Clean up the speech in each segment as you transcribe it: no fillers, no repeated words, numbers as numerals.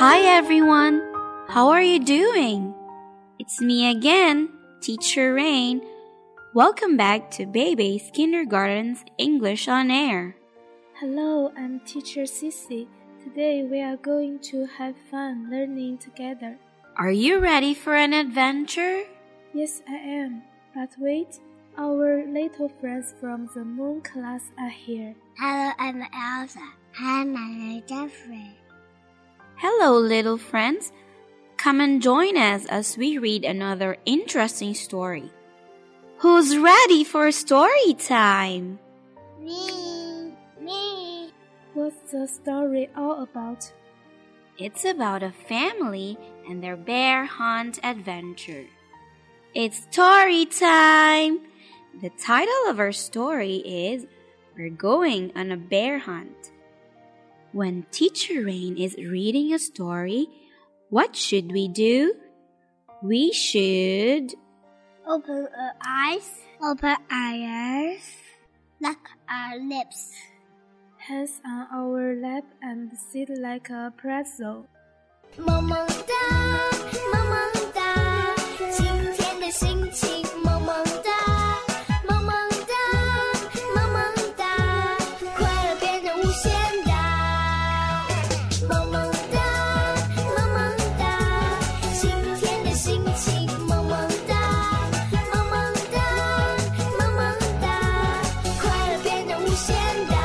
Hi everyone, how are you doing? It's me again, Teacher Rain. Welcome back to Baby's Kindergarten's English on Air. Hello, I'm Teacher Sissy. Today we are going to have fun learning together. Are you ready for an adventure? Yes, I am. But wait, our little friends from the Moon class are here. Hello, I'm Elsa. Hi, my name is Jeffrey. Hello, little friends. Come and join us as we read another interesting story. Who's ready for story time? Me. What's the story all about? It's about a family and their bear hunt adventure. It's story time! The title of our story is We're Going on a Bear Hunt. When Teacher Rain is reading a story, what should we do? We should Open our eyes. Open our ears. Lock our lips. Hands on our lap and sit like a pretzel. 萌萌哒，萌萌哒，今天的心情萌萌哒，萌萌哒，萌萌哒，快乐变得无限大。萌萌哒，萌萌哒，今天的心情萌萌哒，萌萌哒，萌萌哒，快乐变得无限大。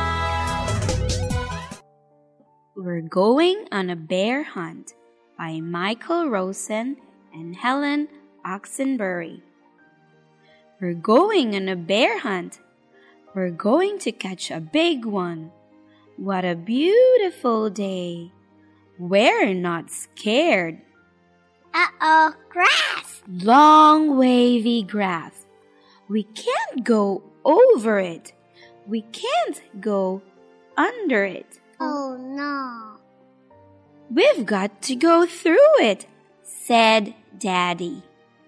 We're Going on a Bear Hunt by Michael Rosen and Helen Oxenbury. We're going on a bear hunt. We're going to catch a big one. What a beautiful day. We're not scared. Uh-oh, grass! Long wavy grass. We can't go over it. We can't go under it. Oh no. We've got to go through it, said Daddy.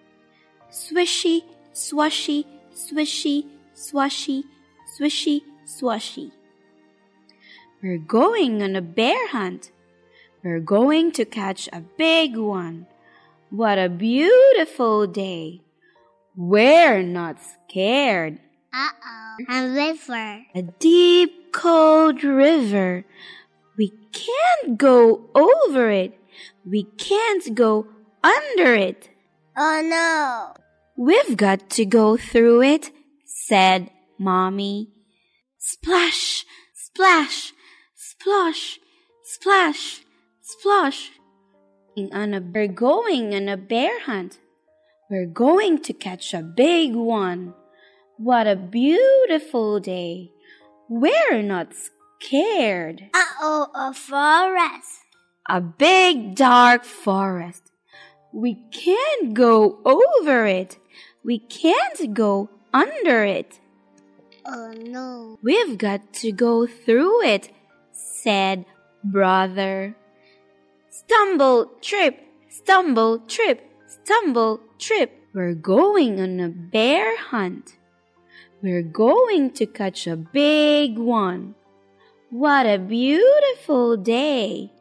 Swishy, swashy, swishy, swashy, swishy, swashy. We're going on a bear hunt. We're going to catch a big one. What a beautiful day. We're not scared. Uh-oh, a river. A deep, cold river. We can't go over it. We can't go under it. Oh no. We've got to go through it, said Mommy. Splash, splash, splosh, splash, splosh. We're going on a bear hunt. We're going to catch a big one. What a beautiful day. We're not scared. Uh-oh, a forest. A big dark forest. We can't go over it. We can't go under it. Oh no. We've got to go through it, said Brother. Stumble, trip, stumble, trip, stumble, trip. We're going on a bear hunt. We're going to catch a big one. What a beautiful day.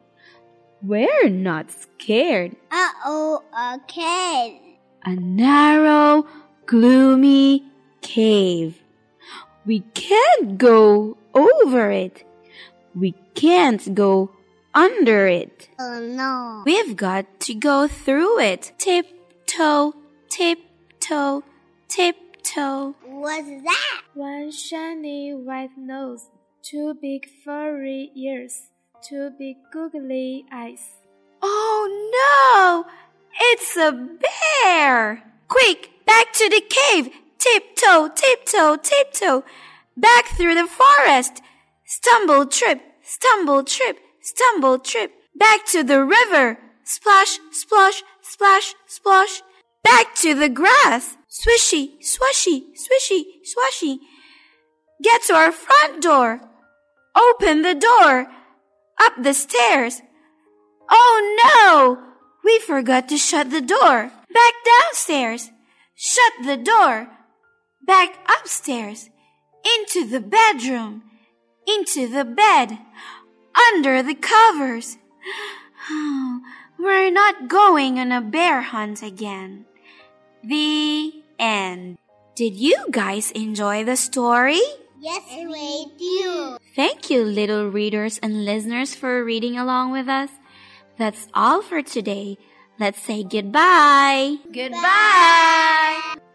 We're not scared. Uh-oh, a cave. A narrow, gloomy cave. We can't go over it. We can't go under it. Oh no. We've got to go through it. Tiptoe, tiptoe, tiptoe. What's that? One shiny white nose, two big furry ears, two big googly eyes. Oh no! It's a bear! Quick, back to the cave! Tiptoe, tiptoe, tiptoe! Back through the forest! Stumble, trip, stumble, trip, stumble, trip! Back to the river! Splash, splosh, splash, splosh! Back to the grass! Swishy, swashy, swishy, swashy! Get to our front door! Open the door! Up the stairs! Oh no! We forgot to shut the door. Back downstairs. Shut the door. Back upstairs. Into the bedroom. Into the bed. Under the covers. We're not going on a bear hunt again. The end. Did you guys enjoy the story? Yes, we do. Thank you, little readers and listeners, for reading along with us. That's all for today. Let's say goodbye. Goodbye.